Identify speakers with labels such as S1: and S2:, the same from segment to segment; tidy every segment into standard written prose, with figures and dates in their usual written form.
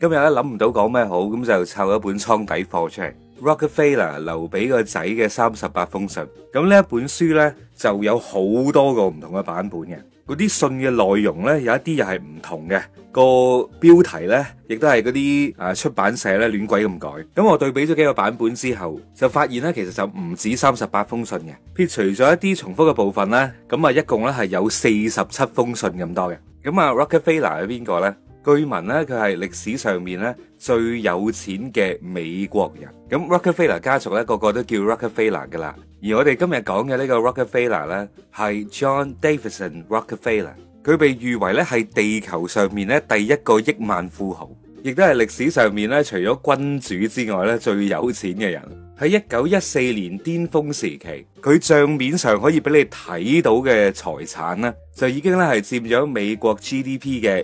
S1: 今日咧諗唔到講咩好，咁就湊一本倉底貨出嚟。Rockefeller 留俾個仔嘅38封信，咁呢一本書呢，就有好多個唔同嘅版本嘅，嗰啲信嘅內容呢，有一啲又係唔同嘅，個標題呢，亦都係嗰啲出版社呢亂鬼咁改。咁我對比咗幾個版本之後，就發現呢，其實就唔止38封信嘅，撇除咗一啲重複嘅部分呢，咁啊一共呢係有47封信咁多嘅。咁啊 Rockefeller 係邊個呢？據聞咧，佢係歷史上面咧最有錢嘅美國人。咁 Rockefeller 家族咧，個個都叫 Rockefeller 噶啦。而我哋今日講嘅呢個 Rockefeller 咧，係 John Davidson Rockefeller。佢被譽為咧係地球上面咧第一個億萬富豪，亦都係歷史上面咧除咗君主之外咧最有錢嘅人。喺1914年巔峰時期，佢賬面上可以俾你睇到嘅財產咧，就已經咧係佔咗美國 GDP 嘅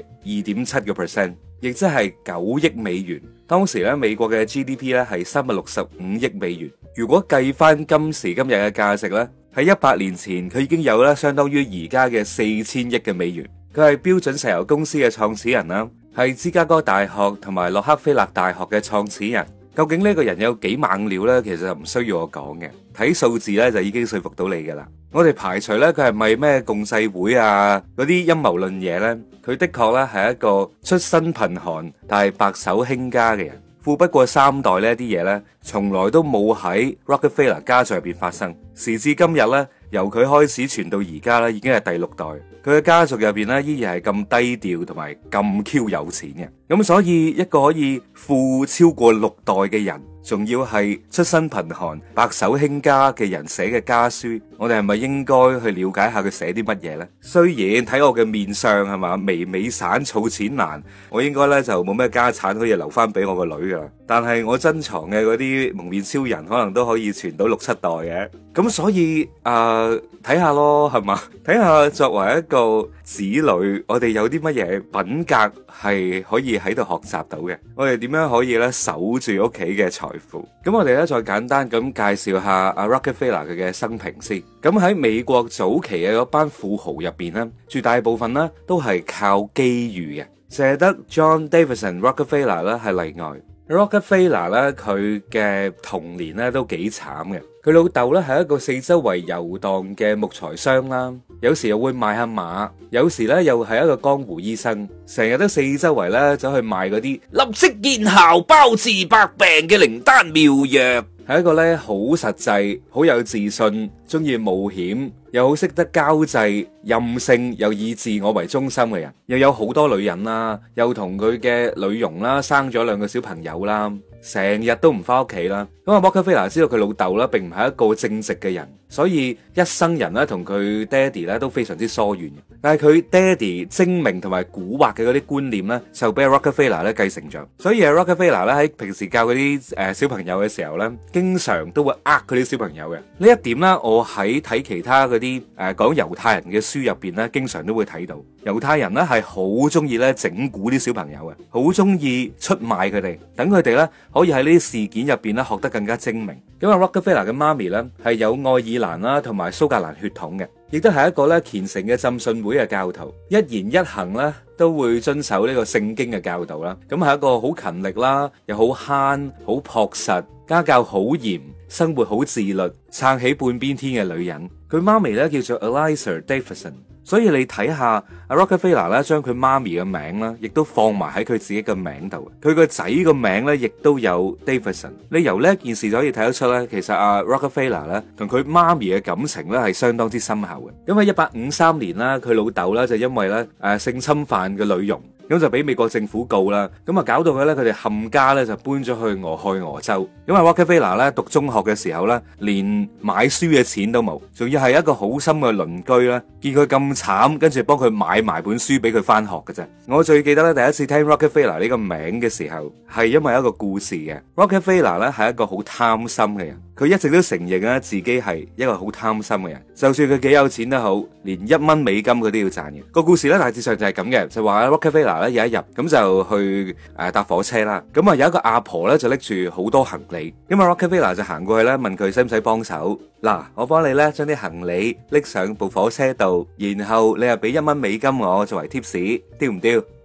S1: 2.7%，亦即係9億美元。當時咧美國嘅 GDP 咧係365億美元。如果計翻今時今日嘅價值咧，喺100年前佢已經有咧相當於而家嘅4000億嘅美元。佢係標準石油公司嘅創始人啦，係芝加哥大學同埋洛克菲勒大學嘅創始人。究竟呢個人有幾猛料呢？其實就唔需要我講嘅，睇數字呢就已經說服到你噶啦。我哋排除呢，佢係咪咩共濟會啊嗰啲陰謀論嘢呢？佢的確呢係一個出身貧寒但係白手興家嘅人，富不過三代呢啲嘢呢，從來都冇喺 Rockefeller 家族入邊發生。時至今日呢，由佢開始傳到而家呢，已經係第6代。佢嘅家族入邊呢，依然係咁低調同埋咁 Q 有錢嘅。咁所以一個可以富超過6代嘅人，仲要係出身貧寒白手興家嘅人寫嘅家書，我哋係咪應該去了解下佢寫啲乜嘢呢？雖然睇我嘅面相係嘛，微微散儲錢難，我應該呢就冇咩家產可以留翻俾我個女噶啦。但係我珍藏嘅嗰啲蒙面超人可能都可以傳到6、7代嘅。咁所以睇下咯，係嘛？睇下作為一個子女，我哋有啲乜嘢品格係可以喺度學習到嘅？我哋點樣可以咧守住屋企嘅財富？咁我哋咧再簡單咁介紹下阿 Rockefeller 佢嘅生平先。咁喺美國早期嘅嗰班富豪入邊咧，絕大部分咧都係靠機遇嘅，淨係得 John Davidson Rockefeller 咧係例外。Rockefeller 咧佢嘅童年咧都幾慘嘅。佢老豆咧係一個四周圍遊蕩嘅木材商啦，有時又會賣下馬，有時咧又係一個江湖醫生，成日都四周圍咧走去賣嗰啲立即見效、包治百病嘅靈丹妙藥，係一個咧好實際、好有自信、中意冒險，又好識得交際、任性又以自我為中心嘅人，又有好多女人啦，又同佢嘅女傭啦生咗2個小朋友啦，成日都唔翻屋企啦。咁啊，Rockefeller知道佢老豆啦，並唔係一個正直嘅人，所以一生人咧同佢爹哋咧都非常之疏遠嘅。但係佢爹哋精明同埋蠱惑嘅嗰啲觀念咧，就俾 Rockefeller 咧繼承咗。所以 Rockefeller 咧喺平時教嗰啲小朋友嘅時候咧，經常都會佢啲小朋友嘅。呢一點咧，我喺睇其他嗰啲講猶太人嘅書入邊咧，經常都會睇到。猶太人咧係好中意咧整蠱啲小朋友嘅，好中意出賣佢哋，等佢哋咧可以喺呢啲事件入邊咧學得更加精明。咁啊 Rockefeller 嘅媽咪咧係有愛爾蘭啦同埋蘇格蘭血統嘅，亦都係一個咧虔誠嘅浸信會嘅教徒，一言一行咧都會遵守呢個聖經嘅教導啦。咁係一個好勤力啦，又好慳、好樸實、家教好嚴、生活好自律、撐起半邊天嘅女人。佢媽咪咧叫做 Eliza Davidson。所以你睇下阿 Rockefeller 咧，將佢媽咪嘅名啦，亦都放埋喺佢自己嘅名度。佢個仔個名咧，亦都有 Davidson。你由呢件事就可以睇得出咧，其實阿 Rockefeller 咧同佢媽咪嘅感情咧係相當之深厚嘅。因為1853年啦，佢老豆咧就因為咧性侵犯嘅女傭，咁就俾美國政府告啦。咁啊搞到佢咧，佢哋冚家咧就搬咗去俄亥俄州。因為 Rockefeller 咧讀中學嘅時候咧，連買書嘅錢都冇，仲要係一個好心嘅鄰居啦，見佢咁慘，跟住幫佢買埋本書俾佢翻學嘅啫。我最記得咧，第一次聽 Rockefeller 呢個名嘅時候，係因為一個故事嘅。Rockefeller 咧係一個好貪心嘅人，佢一直都承認咧自己係一個好貪心嘅人，就算佢幾有錢都好，連1蚊美金佢都要賺嘅。個故事咧大致上就係咁嘅，就話 Rockefeller 咧有一日咁就去搭火車啦，咁啊有一個阿婆咧就拎住好多行李，咁啊 Rockefeller 就行過去咧問佢使唔使幫手。嗱，我幫你咧將啲行李拎上部火車度，然後你又俾1蚊美金我作為 tips， 丟唔丟？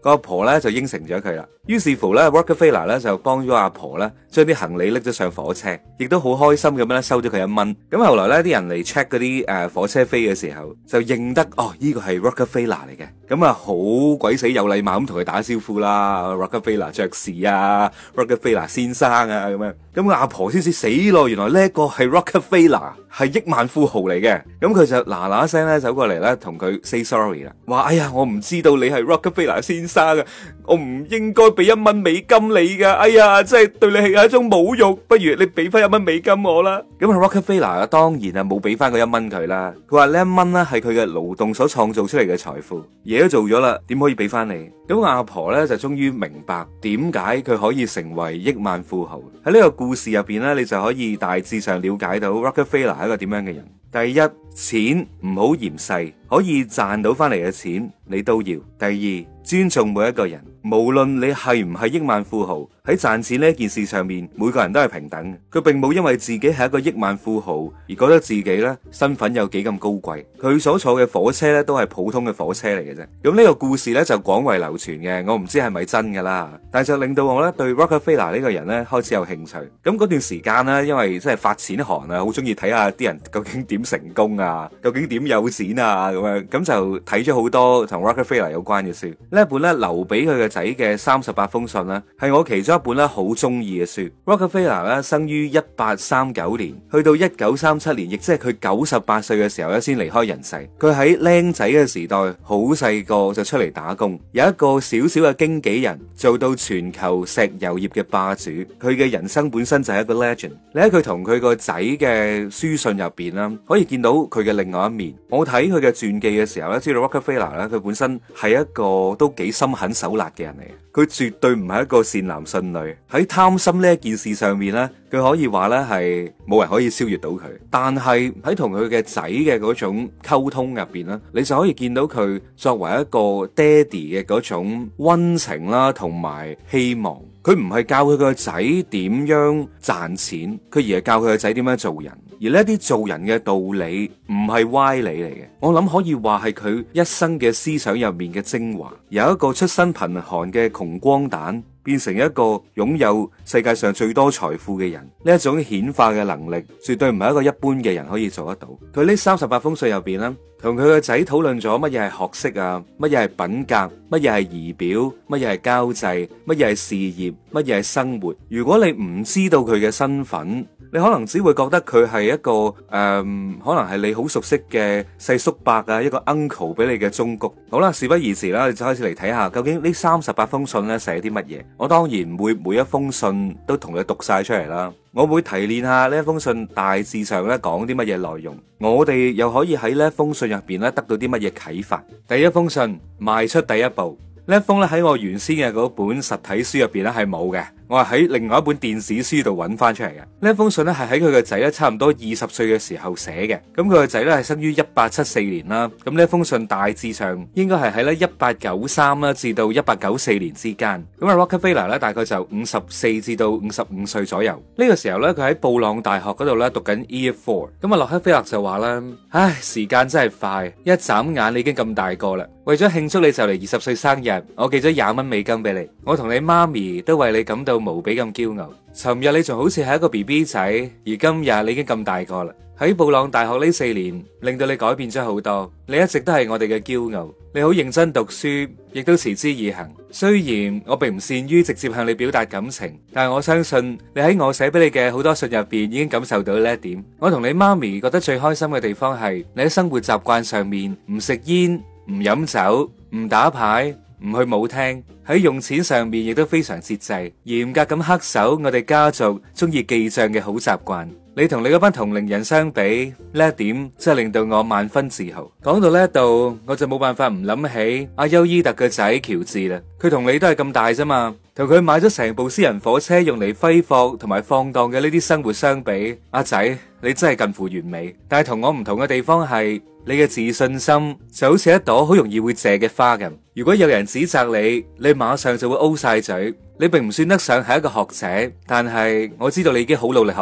S1: 個阿婆咧就應承咗佢啦。於是乎咧 Rockefeller 咧就幫咗阿婆咧將啲行李拎咗上火車，亦都好開心咁樣咧收咗佢1蚊。咁後來咧啲人嚟 check 嗰啲火車飛嘅時候，就認得哦呢個係 Rockefeller 嚟嘅。咁啊好鬼死有禮貌咁同佢打招呼啦 ，Rockefeller 爵士啊 ，Rockefeller 先生啊咁樣。咁阿婆先至死咯，原來呢一個係 Rockefeller 係億萬富豪嚟嘅。咁佢就嗱嗱聲咧走過嚟咧同佢 say sorry 啦，話哎呀我唔知道你係 Rockefeller 先生啊，我唔應該俾1蚊美金你噶，哎呀真係對你係一種侮辱，不如你俾翻1蚊美金我啦。咁啊 Rockefeller 當然啊冇俾翻個1蚊佢啦，佢話呢1蚊咧係佢嘅勞動所創造出嚟嘅財富，嘢都做咗啦，點可以俾翻你？咁阿婆咧就終於明白點解佢可以成為億萬富豪。喺呢個故事入邊咧，你就可以大致上了解到 Rockefeller 係一個點樣嘅人。第一，錢唔好嫌細，可以賺到翻嚟嘅錢你都要。第二，尊重每一個人，無論你係唔係億萬富豪，喺賺錢呢件事上面，每個人都係平等。佢並冇因為自己係一個億萬富豪而覺得自己咧身份有幾咁高貴。佢所坐嘅火車咧都係普通嘅火車嚟嘅啫。咁呢個故事咧就廣為流傳嘅，我唔知係咪真噶啦，但係就令到我咧對 Rockefeller 呢個人咧開始有興趣。咁嗰段時間咧，因為真係發錢寒啊，好中意睇下啲人究竟點成功啊，究竟點有錢啊咁樣，咁就睇咗好多同 Rockefeller 有關嘅書。呢一本咧留俾佢嘅仔嘅38封信咧，係我其中一本咧好中意嘅書。Rockefeller 咧生於1839年，去到1937年，亦即係佢98歲嘅時候咧先離開人世。佢喺僆仔嘅時代，好細個就出嚟打工，有一個小小嘅經紀人，做到全球石油業嘅霸主。佢嘅人生本身就係一個 legend。你喺佢同佢個仔嘅書信入邊啦，可以見到佢嘅另外一面。我睇佢嘅傳記嘅時候咧，知道 Rockefeller 咧，佢本身係一個都幾心狠手辣嘅人嚟嘅。佢絕對唔係一個善男信女。喺貪心呢一件事上面咧，佢可以話咧係冇人可以超越到佢。但係喺同佢嘅仔嘅嗰種溝通入邊咧，你就可以見到佢作為一個爹哋嘅嗰種溫情啦，同埋希望。佢唔係教佢個仔點樣賺錢，佢而係教佢個仔點樣做人。而呢啲做人嘅道理唔係歪理嚟嘅，我諗可以話係佢一生嘅思想入面嘅精華。由一個出身貧寒嘅窮光蛋，變成一個擁有世界上最多財富嘅人，呢一種顯化嘅能力，絕對唔係一個一般嘅人可以做得到。佢呢38封信入邊咧，同佢個仔討論咗乜嘢係學識啊，乜嘢係品格，乜嘢係儀表，乜嘢係交際，乜嘢係事業，乜嘢係生活。如果你唔知道佢嘅身份，你可能只會覺得佢係一個可能係你好熟悉嘅細叔伯啊，一個 uncle 俾你嘅忠告。好啦，事不宜遲啦，你就開始嚟睇下究竟呢38封信咧寫啲乜嘢。我當然唔會每一封信都同你讀晒出嚟啦，我會提煉下呢一封信大致上咧講啲乜嘢內容，我哋又可以喺呢一封信入邊咧得到啲乜嘢啟發。第一封信，邁出第一步。呢一封咧喺我原先嘅嗰本實體書入邊咧係冇嘅，我係喺另外一本電子書度揾翻出嚟嘅。呢一封信咧係喺佢個仔咧差唔多20歲嘅時候寫嘅。咁佢個仔咧係生於1874年啦。咁呢一封信大致上應該係喺咧1893啦至到1894年之間。咁啊 Rockefeller 咧大概就54至到55歲左右。呢個時候咧佢喺布朗大學嗰度咧讀緊 Year 4。咁啊洛克菲勒就話啦：唉，時間真係快，一眨眼你已經咁大個啦。為咗慶祝你就嚟20歲生日，我寄咗20蚊美金俾你。我同你媽咪都為你感到無比咁驕傲。尋日你仲好似係一個 BB 仔，而今日你已經咁大個啦。喺布朗大學呢4年，令到你改變咗好多。你一直都係我哋嘅驕傲。你好認真讀書，亦都持之以恆。雖然我並唔善於直接向你表達感情，但係我相信你喺我寫俾你嘅好多信入邊已經感受到呢一點。我同你媽咪覺得最開心嘅地方係你喺生活習慣上面唔食煙、唔飲酒、唔打牌、唔去舞廳，喺用錢上面亦都非常節制，嚴格咁恪守我哋家族中意記賬嘅好習慣。你同你嗰班同齡人相比，呢一點真係令到我萬分自豪。講到呢一度，我就冇辦法唔諗起阿丘伊特嘅仔喬治啦。佢同你都係咁大啫嘛，同佢買咗成部私人火車用嚟揮霍同埋放蕩嘅呢啲生活相比，阿仔你真係近乎完美。但係同我唔同嘅地方係，你嘅自信心就好似一朵好容易會謝嘅花咁。如果有人指責你，你馬上就會 O 晒嘴。你並唔算得上係一個學者，但係我知道你已經好努力學習。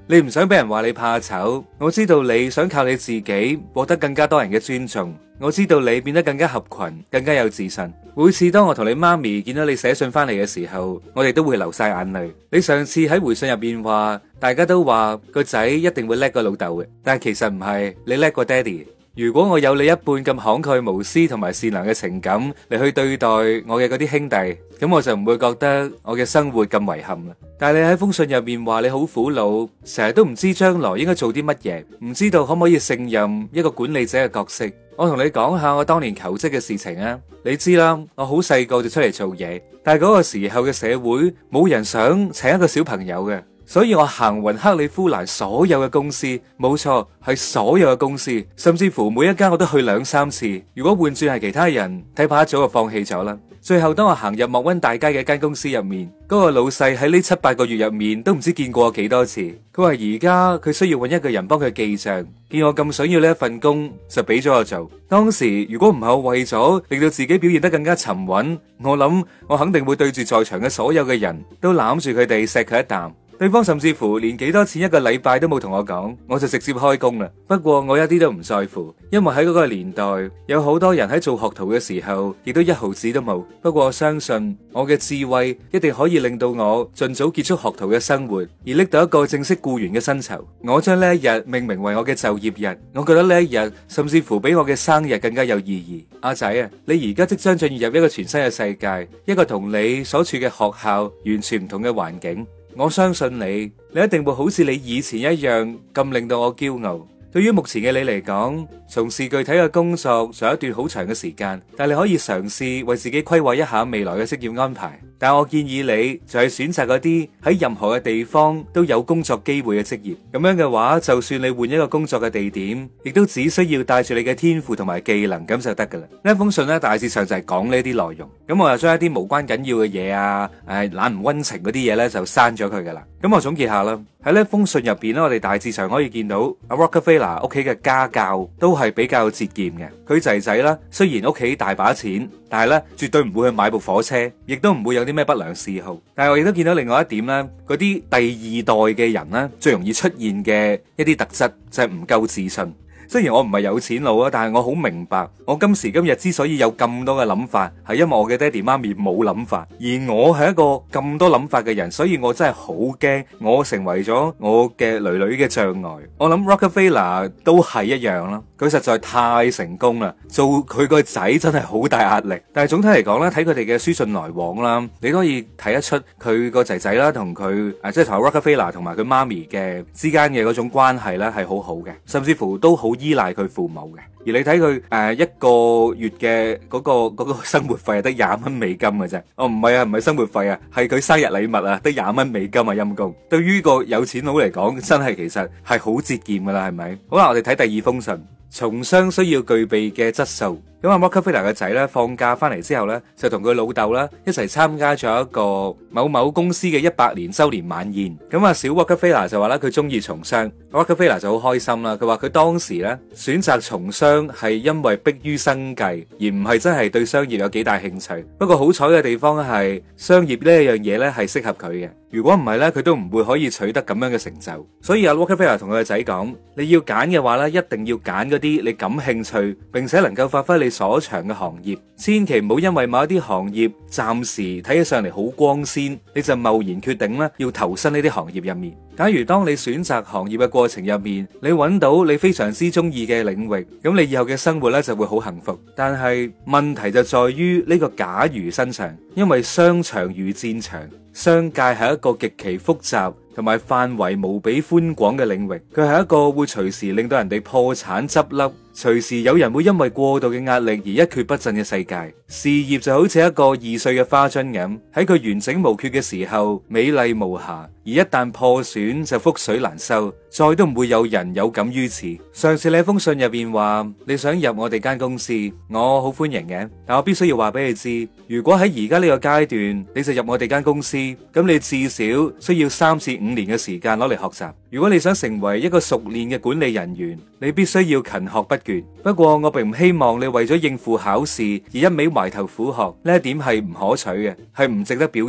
S1: 你唔想俾人話你怕醜，我知道你想靠你自己獲得更加多人嘅尊重，我知道你變得更加合群，更加有自信。每次當我同你媽咪見到你寫信翻嚟嘅時候，我哋都會流晒眼淚。你上次喺回信入邊話，大家都話個仔一定會叻過老豆嘅，但係其實唔係，你叻過爹哋。如果我有你一半咁慷慨無私同埋善良嘅情感嚟去對待我嘅嗰啲兄弟，咁我就唔會覺得我嘅生活咁遺憾啦。但係你喺封信入面話你好苦惱，成日都唔知將來應該做啲乜嘢，唔知道可唔可以勝任一個管理者嘅角色。我同你講下我當年求職嘅事情啊，你知啦，我好細個就出嚟做嘢，但係嗰個時候嘅社會冇人想請一個小朋友嘅。所以我行匀克里夫蘭所有嘅公司，冇錯，係所有嘅公司，甚至乎每一間我都去2-3次。如果換轉係其他人，睇怕一早就放棄咗啦。最後當我行入莫溫大街嘅一間公司入面，嗰個老細喺呢7-8個月入面都唔知見過我幾多次。佢話而家佢需要揾一個人幫佢記賬，見我咁想要呢一份工，就俾咗我做。當時如果唔係我為咗令到自己表現得更加沉穩，我諗我肯定會對住在場嘅所有嘅人都攬住佢哋錫佢一啖。對方甚至乎連幾多錢一個禮拜都冇同我講，我就直接開工啦。不過我一啲都唔在乎，因為喺嗰個年代有好多人喺做學徒嘅時候亦都1毫子都冇。不過我相信我嘅智慧一定可以令到我盡早結束學徒嘅生活，而拎到一個正式僱員嘅薪酬。我將呢一日命名為我嘅就業日，我覺得呢一日甚至乎比我嘅生日更加有意義。阿仔啊，你而家即將進入一個全新嘅世界，一個同你所處嘅學校完全唔同嘅環境。我相信你，你一定會好似你以前一樣咁令到我驕傲。對於目前嘅你嚟講，從事具體嘅工作仲有一段好長嘅時間，但你可以嘗試為自己規劃一下未來嘅職業安排。但我建議你就係選擇嗰啲喺任何嘅地方都有工作機會嘅職業。咁樣嘅話，就算你換一個工作嘅地點，亦都只需要帶住你嘅天賦同埋技能咁就得噶啦。呢封信咧，大致上就係講呢啲內容。咁我又將一啲無關緊要嘅嘢啊，懶唔溫情嗰啲嘢咧就刪咗佢噶啦。咁我總結下啦，喺呢封信入邊咧，我哋大致上可以見到阿 Rockefeller 屋企嘅家教都係比較節儉嘅。佢仔仔啦，雖然屋企大把錢，但係咧絕對唔會去買部火車，亦都唔會有啲咩不良嗜好。但係我亦都見到另外一點咧，嗰啲第2代嘅人咧，最容易出現嘅一啲特質就係唔夠自信。雖然我唔係有錢佬啊，但係我好明白，我今時今日之所以有咁多嘅諗法，係因為我嘅爹哋媽咪冇諗法，而我係一個咁多諗法嘅人，所以我真係好驚我成為咗我嘅女女嘅障礙。我諗 Rockefeller 都係一樣啦，佢實在太成功啦，做佢個仔真係好大壓力。但係總體嚟講咧，睇佢哋嘅書信來往啦，你都可以睇得出佢個仔仔啦，同佢即係同 Rockefeller 同埋佢媽咪嘅之間嘅嗰種關係咧係好好嘅，甚至乎都好依賴佢父母嘅。而你睇佢一個月嘅嗰個生活費係得$20嘅啫。哦，唔係啊，唔係生活費啊，係佢生日禮物啊，得$20啊，陰公。對於個有錢佬嚟講，真係其實係好節儉噶啦，係咪？好啦，我哋睇第2封信，從商需要具備嘅質素。咁阿 Rockefeller 嘅仔咧放假翻嚟之後咧，就同佢老豆啦一齊參加咗一個某某公司嘅100年周年晚宴。咁啊，小 Rockefeller 就話啦，佢中意從商。Rockefeller 就好開心啦。佢話佢當時咧選擇從商係因為迫於生計，而唔係真係對商業有幾大興趣。不過好彩嘅地方係商業呢一樣嘢咧係適合佢嘅。如果唔係咧，佢都唔會可以取得咁樣嘅成就。所以阿 Rockefeller 同佢個仔講，你要揀嘅話咧，一定要揀嗰啲你感興趣並且能夠發揮你所長嘅行業，千祈唔好因為某一啲行業暫時睇起上嚟好光鮮，你就貿然決定咧要投身呢啲行業入面。假如當你選擇行業嘅過程入面，你揾到你非常之中意嘅領域，咁你以後嘅生活咧就會好幸福。但係問題就在於呢個假如身上，因為商場如戰場，商界係一個極其複雜同埋範圍無比寬廣嘅領域，佢係一個會隨時令到人哋破產執笠，隨時有人會因為過度嘅壓力而一蹶不振嘅世界。事業就好似一個易碎嘅花樽咁，喺佢完整無缺嘅時候美麗無瑕，而一旦破損就覆水難收，再都唔會有人有感於此。上次你喺封信入邊話你想入我哋間公司，我好歡迎嘅，但我必須要話俾你知，如果喺而家呢個階段你就入我哋間公司，咁你至少需要3至5年嘅時間攞嚟學習。如果你想成為一個熟練嘅管理人員，你必須要勤學不倦。不過我並唔希望你為咗應付考試而一味埋頭苦學，呢一點係唔可取嘅，係唔值得表揚嘅。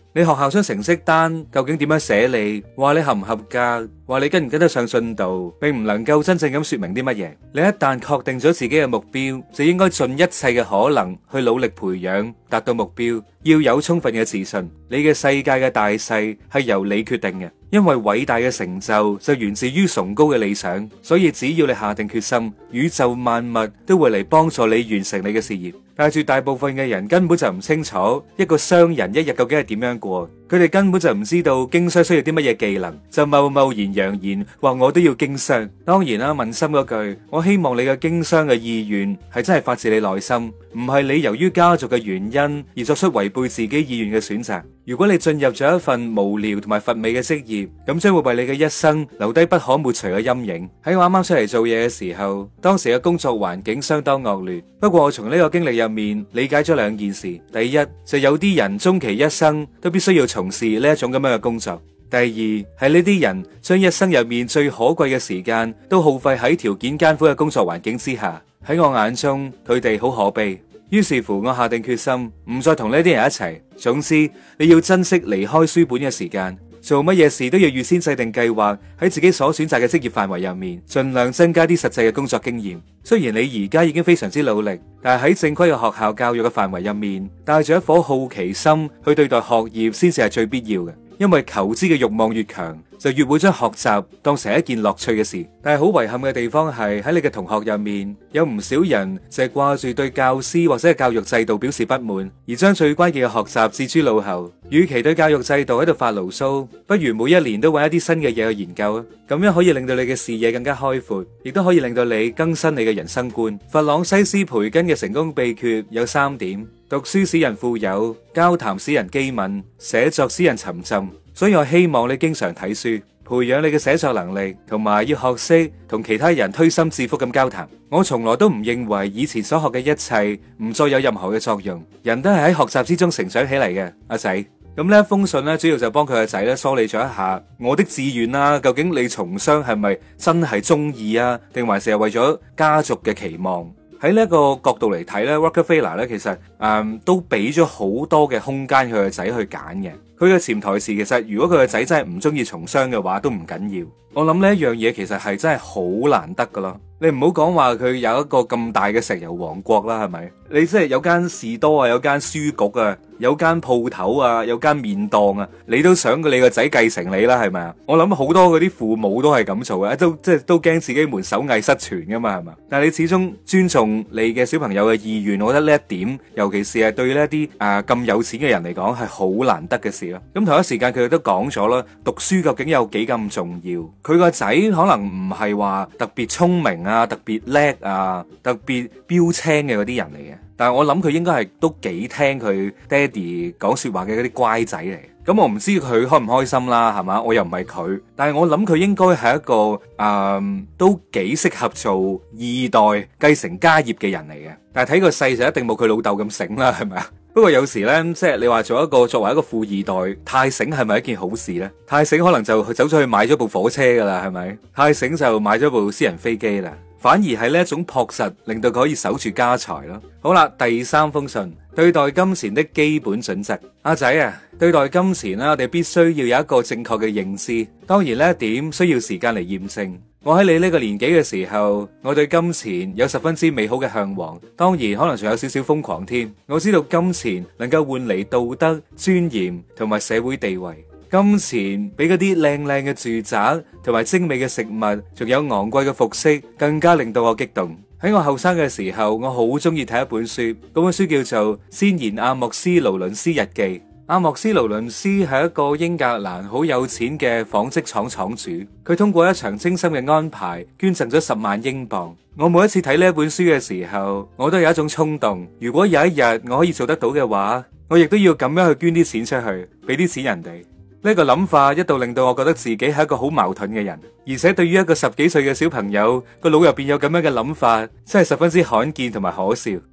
S1: 你學校張成績單究竟點樣寫你，話你合唔合格，話你跟唔跟得上進度，並唔能夠真正咁說明啲乜嘢。你一旦確定咗自己嘅目標，就應該盡一切嘅可能去努力培養，達到目標。要有充分嘅自信，你嘅世界嘅大細係由你決定嘅，因為偉大嘅成就源自於崇高嘅理想，所以只要你下定決心，宇宙萬物都會嚟幫助你完成你嘅事業。但係絕大部分嘅人根本就唔清楚一個商人一日究竟係點樣過，佢哋根本就唔知道經商需要啲乜嘢技能，就貿貿然揚言話我都要經商。當然啦，問心嗰句，我希望你嘅經商嘅意願係真係發自你內心，唔係你由於家族嘅原因而作出違背自己意願嘅選擇。如果你進入咗一份無聊同埋乏味嘅職業，咁將會為你嘅一生留低不可抹除嘅陰影。喺我啱啱出嚟做嘢嘅時候，當時嘅工作環境相當惡劣，不過我從呢個經歷入面理解咗兩件事。第一，就有啲人終其一生都必須要從事呢一種咁樣嘅工作。第二，係呢啲人將一生入面最可貴嘅時間都耗費喺條件艱苦嘅工作環境之下。喺我眼中，佢哋好可悲。於是乎，我下定決心唔再同呢啲人一齊。總之，你要珍惜離開書本嘅時間，做乜嘢事都要預先制定計劃，喺自己所選擇嘅職業範圍入面，盡量增加啲實際嘅工作經驗。雖然你而家已經非常之努力，但係喺正規嘅學校教育嘅範圍入面，帶住一顆好奇心去對待學業，先至係最必要嘅。因為求知嘅慾望越強，就越會將學習當成一件樂趣嘅事。但係好遺憾嘅地方係喺你嘅同學入面，有唔少人就係掛住對教師或者係教育制度表示不滿，而將最關鍵嘅學習置諸腦後。與其對教育制度喺度發牢騷，不如每一年都揾一啲新嘅嘢去研究啊！咁樣可以令到你嘅視野更加開闊，亦都可以令到你更新你嘅人生觀。弗朗西斯培根嘅成功秘訣有3點：讀書使人富有，交談使人機敏，寫作使人沉浸。所以我希望你經常睇書，培養你嘅寫作能力，同埋要學識同其他人推心置腹咁交談。我從來都唔認為以前所學嘅一切唔再有任何嘅作用，人都係喺學習之中成長起嚟嘅。阿仔，咁呢一封信咧，主要就幫佢個仔咧梳理咗一下我的志願啦。究竟你從商係咪真係中意啊，定還是係為咗家族嘅期望？喺呢一個角度嚟睇咧，Rockefeller 咧其實都俾咗好多嘅空間佢個仔去揀嘅。佢嘅潛台詞其實，如果佢個仔真係唔中意從商嘅話，都唔緊要。我諗呢一樣嘢其實係真係好難得噶咯。你唔好講話佢有一個咁大嘅石油王國啦，係咪？你即係有間士多啊，有間書局啊，有間鋪頭啊，有間麵檔啊，你都想你個仔繼承你啦，係咪啊？我諗好多嗰啲父母都係咁做嘅，都驚自己門手藝失傳噶嘛，係嘛？但係你始終尊重你嘅小朋友嘅意願，我覺得呢一點，尤其是係對呢一啲咁有錢嘅人嚟講，係好難得嘅事咯。咁同一時間佢哋都講咗啦，讀書究竟有幾咁重要？佢個仔可能唔係話特別聰明啊，特別叻啊，特別標青嘅嗰啲人嚟嘅，但係我諗佢應該係都幾聽佢爹哋講說話嘅嗰啲乖仔嚟。咁我唔知佢開唔開心啦，係嘛？我又唔係佢，但係我諗佢應該係一個都幾適合做二代繼承家業嘅人嚟嘅。但係睇個勢就一定冇佢老豆咁醒啦，係咪啊？不過有時呢，即係你話作為一個富二代，太醒係咪一件好事呢？太醒可能就走咗去買咗部火車噶啦，係咪？太醒就買咗部私人飛機啦。反而係呢一種樸實，令到佢可以守住家財咯。好啦，第3封信，對待金錢的基本準則。阿仔啊，對待金錢啦，我哋必須要有一個正確嘅認知。當然呢一點需要時間嚟驗證。我喺你呢個年紀嘅時候，我對金錢有十分之美好嘅向往，當然可能仲有少少瘋狂添。我知道金錢能夠換嚟道德、尊嚴同埋社會地位。金錢比嗰啲靚靚嘅住宅同埋精美嘅食物，仲有昂貴嘅服飾，更加令到我激動。喺我後生嘅時候，我好中意睇一本書，嗰本書叫做《先賢阿莫斯勞倫斯日記》。阿莫斯勞倫斯係一個英格蘭好有錢嘅紡織廠廠主，佢通過一場精心嘅安排，捐贈咗10萬英鎊。我每一次睇呢一本書嘅時候，我都有一種衝動，如果有一日我可以做得到嘅話，我亦都要咁樣去捐啲錢出去，俾啲錢人哋。呢個諗法一度令到我覺得自己係一個好矛盾嘅人，而且對於一個10幾歲嘅小朋友個腦入邊有咁樣嘅諗法，真係十分之罕見同埋可笑。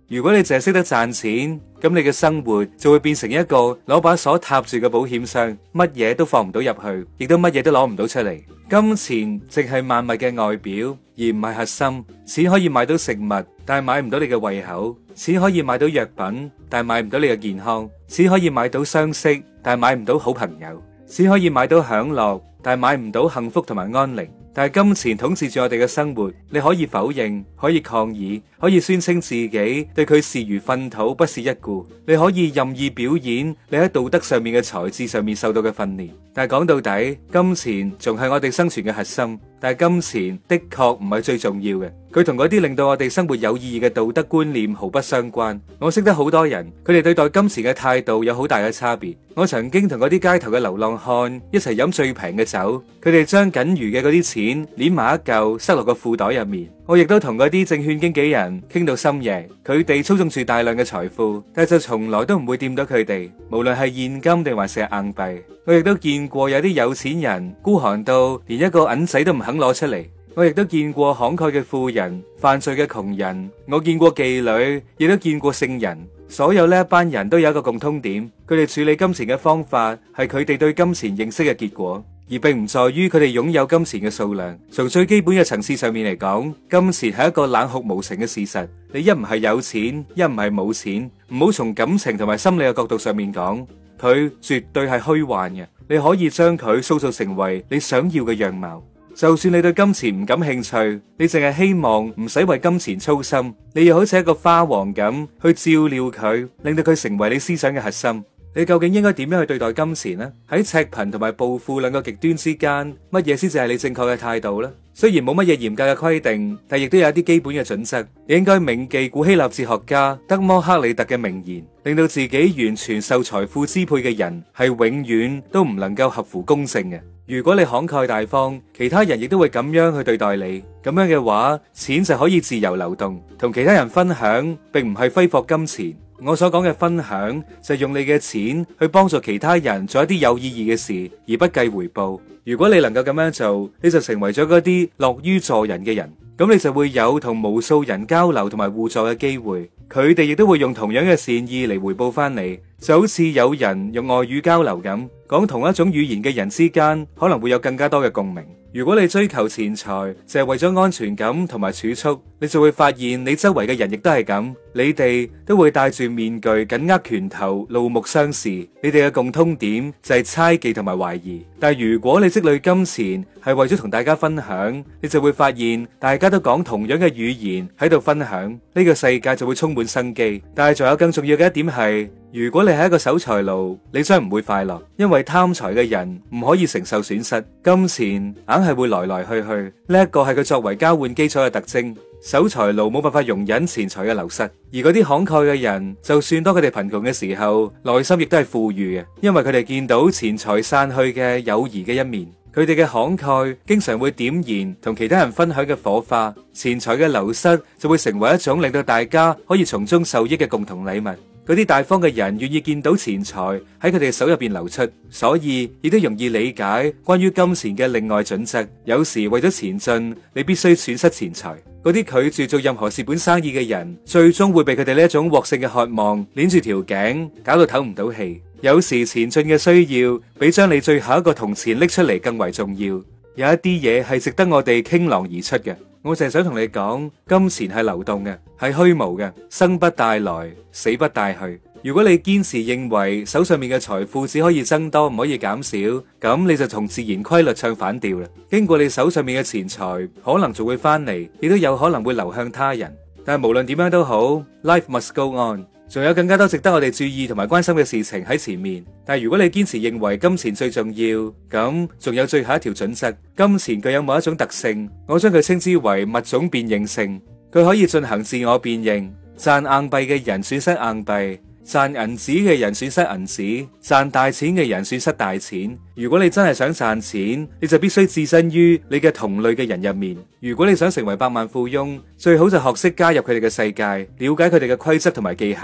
S1: 如果你淨係識得賺錢，咁你嘅生活就會變成一個攞把鎖踏住嘅保險箱，乜嘢都放唔到入去，亦都乜嘢都攞唔到出嚟。金錢淨係萬物嘅外表，而唔係核心。錢可以買到食物，但係買唔到你嘅胃口；錢可以買到藥品，但係買唔到你嘅健康；錢可以買到相識，但係買唔到好朋友；錢可以買到享樂，但係買唔到幸福同埋安寧。但係金錢統治住我哋嘅生活，你可以否認，可以抗議，可以宣稱自己對佢視如糞土，不屑一顧。你可以任意表演你喺道德上面嘅才智上面受到嘅訓練。但係講到底，金錢仲係我哋生存嘅核心。但係金錢的確唔係最重要嘅，佢同嗰啲令到我哋生活有意義嘅道德觀念毫不相關。我識得好多人，佢哋對待金錢嘅態度有好大嘅差別。我曾經同嗰啲街頭嘅流浪漢一齊飲最平嘅酒，佢哋將僅餘嘅嗰啲錢捏埋一嚿塞落個褲袋入面。我亦都同嗰啲證券經紀人傾到深夜，佢哋操縱住大量嘅財富，但係就從來都唔會掂到佢哋，無論係現金定還是硬幣。我亦都見過有啲有錢人孤寒到連一個銀仔都唔肯攞出嚟。我亦都見過慷慨嘅富人，犯罪嘅窮人。我見過妓女，亦都見過聖人。所有呢一班人都有一個共通點，佢哋處理金錢嘅方法係佢哋對金錢認識嘅結果，而並唔在於佢哋擁有金錢嘅數量。從最基本嘅層次上面嚟講，金錢係一個冷酷無情嘅事實。你一唔係有錢，一唔係冇錢。唔好從感情同埋心理嘅角度上面講，佢絕對係虛幻嘅。你可以將佢塑造成為你想要嘅樣貌。就算你對金錢唔感興趣，你淨係希望唔使為金錢操心，你又好似一個花王咁去照料佢，令到佢成為你思想嘅核心。你究竟應該點樣去對待金錢呢？喺赤貧同埋暴富兩個極端之間，乜嘢先至係你正確嘅態度呢？雖然冇乜嘢嚴格嘅規定，但亦都有一啲基本嘅準則。你應該銘記古希臘哲學家德摩克里特嘅名言，令到自己完全受財富支配嘅人係永遠都唔能夠合乎公正嘅。如果你慷慨大方，其他人亦都會咁樣去對待你。咁樣嘅話，錢就可以自由流動，同其他人分享，並唔係揮霍金錢。我所講嘅分享就係用你嘅錢去幫助其他人做一啲有意義嘅事，而不計回報。如果你能夠咁樣做，你就成為咗嗰啲樂於助人嘅人，咁你就會有同無數人交流同埋互助嘅機會。佢哋亦都會用同樣嘅善意嚟回報翻你，就好似有人用外語交流咁，講同一種語言嘅人之間可能會有更加多嘅共鳴。如果你追求錢財，就係為咗安全感同埋儲蓄，你就會發現你周圍嘅人亦都係咁，你哋都會戴住面具，緊握拳頭，怒目相視。你哋嘅共通點就係猜忌同埋懷疑。但係如果你積累金錢係為咗同大家分享，你就會發現大家都講同樣嘅語言喺度分享，呢個世界就會充滿生機。但係仲有更重要嘅一點係，如果你係一個守財奴，你將唔會快樂，因為貪財嘅人唔可以承受損失，金錢硬係會來來去去，呢一個係佢作為交換基礎嘅特徵。守財奴冇辦法容忍錢財嘅流失，而嗰啲慷慨嘅人，就算當佢哋貧窮嘅時候，內心亦都係富裕嘅，因為佢哋見到錢財散去嘅友誼嘅一面。佢哋嘅慷慨經常會點燃同其他人分享嘅火花，錢財嘅流失就會成為一種令到大家可以從中受益嘅共同禮物。嗰啲大方嘅人願意見到錢財喺佢哋手入邊流出，所以亦都容易理解關於金錢嘅另外準則。有時為咗前進，你必須損失錢財。嗰啲拒絕做任何蝕本生意嘅人，最終會被佢哋呢一種獲勝嘅渴望鏈住條頸，搞到唞唔到氣。有時前進嘅需要，比將你最後一個銅錢拎出嚟更為重要。有一啲嘢係值得我哋傾囊而出嘅。我淨係想同你講，金錢係流動嘅，係虛無嘅，生不帶來，死不帶去。如果你堅持認為手上面嘅財富只可以增多，唔可以減少，咁你就同自然規律唱反調啦。經過你手上面嘅錢財，可能仲會翻嚟，亦都有可能會流向他人。但係無論點樣都好 ，Life must go on。仲有更加多值得我哋注意同埋關心嘅事情喺前面，但係如果你堅持認為金錢最重要，咁仲有最後一條準則，金錢具有某一種特性，我將佢稱之為物種變應性，佢可以進行自我變應，賺硬幣嘅人損失硬幣，賺銀紙嘅人損失銀紙，賺大錢嘅人損失大錢。如果你真係想賺錢，你就必須置身於你嘅同類嘅人入面。如果你想成為百萬富翁，最好就學識加入佢哋嘅世界，了解佢哋嘅規則同埋技巧，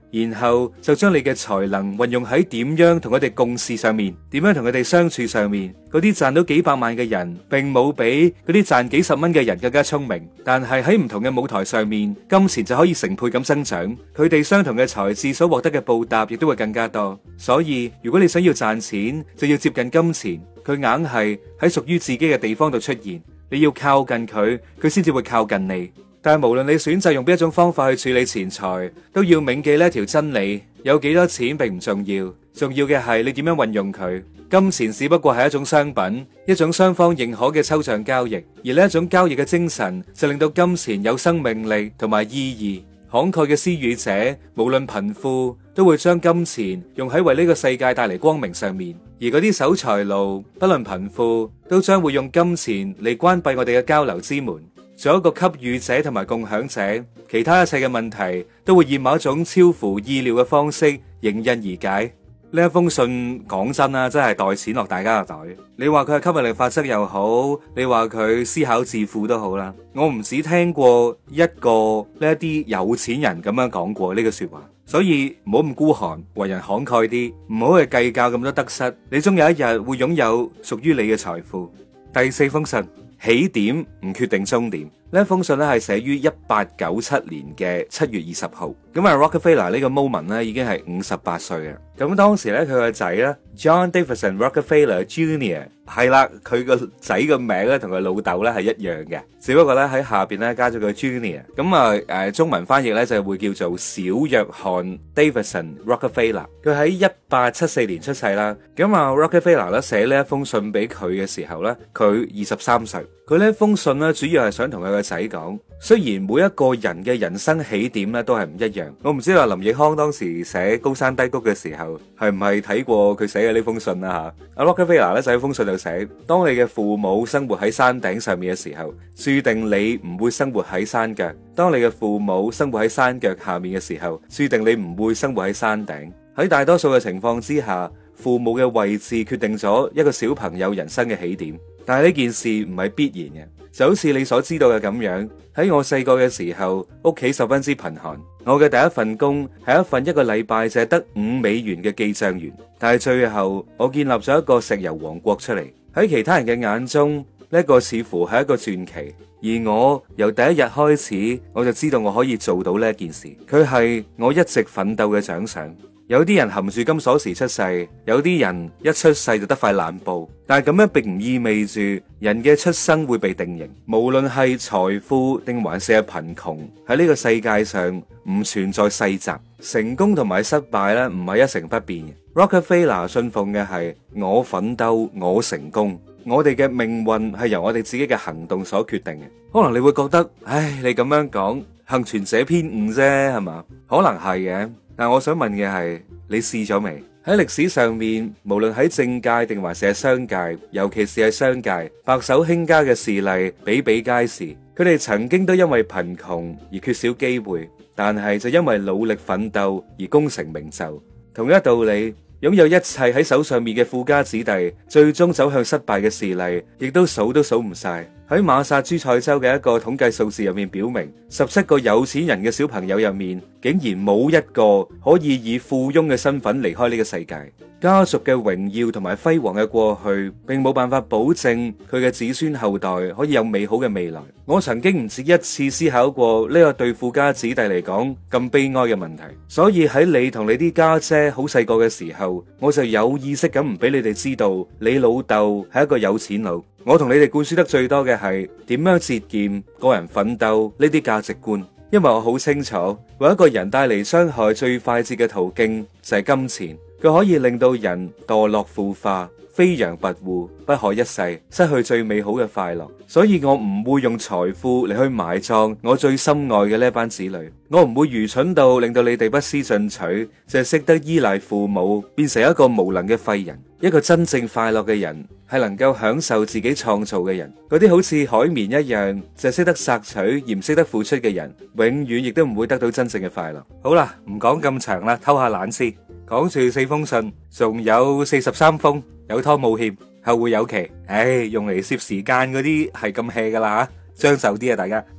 S1: 然後就將你嘅才能運用喺點樣同佢哋共事上面，點樣同佢哋相處上面。嗰啲賺到幾百萬嘅人，並冇比嗰啲賺幾十蚊嘅人更加聰明，但係喺唔同嘅舞台上面，金錢就可以成倍咁增長。佢哋相同嘅才智所獲得嘅報答，亦都會更加多。所以如果你想要賺錢，就要接近金錢，佢硬係喺屬於自己嘅地方度出現，你要靠近佢，佢先至會靠近你。但係無論你選擇用邊一種方法去處理錢財，都要銘記呢一條真理：有幾多錢並唔重要，重要嘅係你點樣運用佢。金錢只不過係一種商品，一種雙方認可嘅抽象交易，而呢一種交易嘅精神就令到金錢有生命力同埋意義。慷慨嘅施予者，無論貧富，都會將金錢用喺為呢個世界帶嚟光明上面；而嗰啲守財奴，不論貧富，都將會用金錢嚟關閉我哋嘅交流之門。做一個給予者同埋共享者，其他一切嘅問題都會以某一種超乎意料嘅方式迎刃而解。呢一封信講真啦，真係袋錢落大家嘅袋。你話佢係吸引力法則又好，你話佢思考致富都好啦。我唔止聽過一個呢一啲有錢人咁樣講過呢個說話，所以唔好咁孤寒，為人慷慨啲，唔好去計較咁多得失。你終有一日會擁有屬於你嘅財富。第四封信，起點唔決定終點。呢一封信咧係寫於1897年嘅7月20號。咁啊 Rockefeller 呢個 moment 咧已經係58歲嘅。咁當時咧佢個仔咧 John Davidson Rockefeller Jr. 係啦，佢個仔個名咧同佢老豆咧係一樣嘅，只不過咧喺下邊咧加咗個 Junior。咁啊中文翻譯咧就會叫做小約翰 Davidson Rockefeller。佢喺1874年出世啦。咁啊 Rockefeller 咧寫呢一封信俾佢嘅時候咧，佢23歲。佢呢封信咧主要係想同佢個仔講，雖然每一個人嘅人生起點咧都係唔一樣。我唔知話林奕匡當時寫高山低谷嘅時候係唔係睇過佢寫嘅呢封信啦吓。阿 Rockefeller 咧就喺封信度寫，當你嘅父母生活喺山頂上面嘅時候，注定你唔會生活喺山腳；當你嘅父母生活喺山腳下面嘅時候，注定你唔會生活喺山頂。喺大多數嘅情況之下，父母嘅位置決定咗一個小朋友人生嘅起點。但係呢件事唔係必然嘅，就好似你所知道嘅咁樣。喺我細個嘅時候，屋企十分之貧寒。我嘅第一份工係一份一個禮拜淨係得5美元嘅記賬員。但係最後我建立咗一個石油王國出嚟。喺其他人嘅眼中，呢個似乎係一個傳奇。而我由第一日開始，我就知道我可以做到呢件事。佢係我一直奮鬥嘅獎賞。有啲人含住金鎖匙出世，有啲人一出世就得塊爛布，但係咁樣並唔意味住人嘅出生會被定型。無論係財富定還是係貧窮，喺呢個世界上唔存在世襲，成功同埋失敗咧唔係一成不變嘅。Rockefeller 信奉嘅係我奮鬥，我成功。我哋嘅命運係由我哋自己嘅行動所決定嘅。可能你會覺得，唉，你咁樣講，幸存者偏誤啫，係嘛？可能係嘅。但我想問嘅係，你試咗未？喺歷史上面，無論喺政界定還是係商界，尤其是係商界，白手興家嘅事例比比皆是。佢哋曾經都因為貧窮而缺少機會，但係就因為努力奮鬥而功成名就。同一道理，擁有一切喺手上面嘅富家子弟，最終走向失敗嘅事例，亦都數唔晒。喺馬薩諸塞州嘅一個統計數字入面表明，17個有錢人嘅小朋友入面，竟然冇一個可以以富翁嘅身份離開呢個世界。家族嘅榮耀同埋輝煌嘅過去，並冇辦法保證佢嘅子孫後代可以有美好嘅未來。我曾經唔止一次思考過呢個對富家子弟嚟講咁悲哀嘅問題，所以喺你同你啲家姐好細個嘅時候，我就有意識咁唔俾你哋知道你老豆係一個有錢佬。我同你哋灌輸得最多嘅係點樣節儉、個人奮鬥呢啲價值觀，因為我好清楚，為一個人帶嚟傷害最快捷嘅途徑就係金錢，佢可以令到人墮落腐化、飛揚跋扈、不可一世，失去最美好嘅快樂。所以我唔會用財富嚟去埋葬我最心愛嘅呢班子女，我唔會愚蠢到令到你哋不思進取，淨係識得依賴父母，變成一個無能嘅廢人。一個真正快樂嘅人係能夠享受自己創造嘅人。嗰啲好似海綿一樣就識得索取而唔識得付出嘅人，永遠亦都唔會得到真正嘅快樂。好啦，唔講咁長啦，偷下懶先。講住4封信，仲有43封，有拖冇欠，後會有期。唉，用嚟攝時間嗰啲係咁 hea 噶啦吓，將就啲啊大家。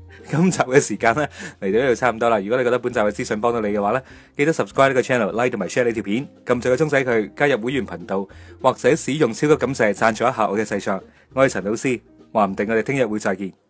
S1: 今集嘅時間咧嚟到呢度差唔多啦。如果你覺得本集嘅資訊幫到你嘅話咧，記得 subscribe 呢個 channel、like 同埋 share 呢條片，撳住個鐘仔佢，加入會員頻道或者使用超級感謝贊助一下我嘅製作。我係陳老師，話唔定我哋聽日會再見。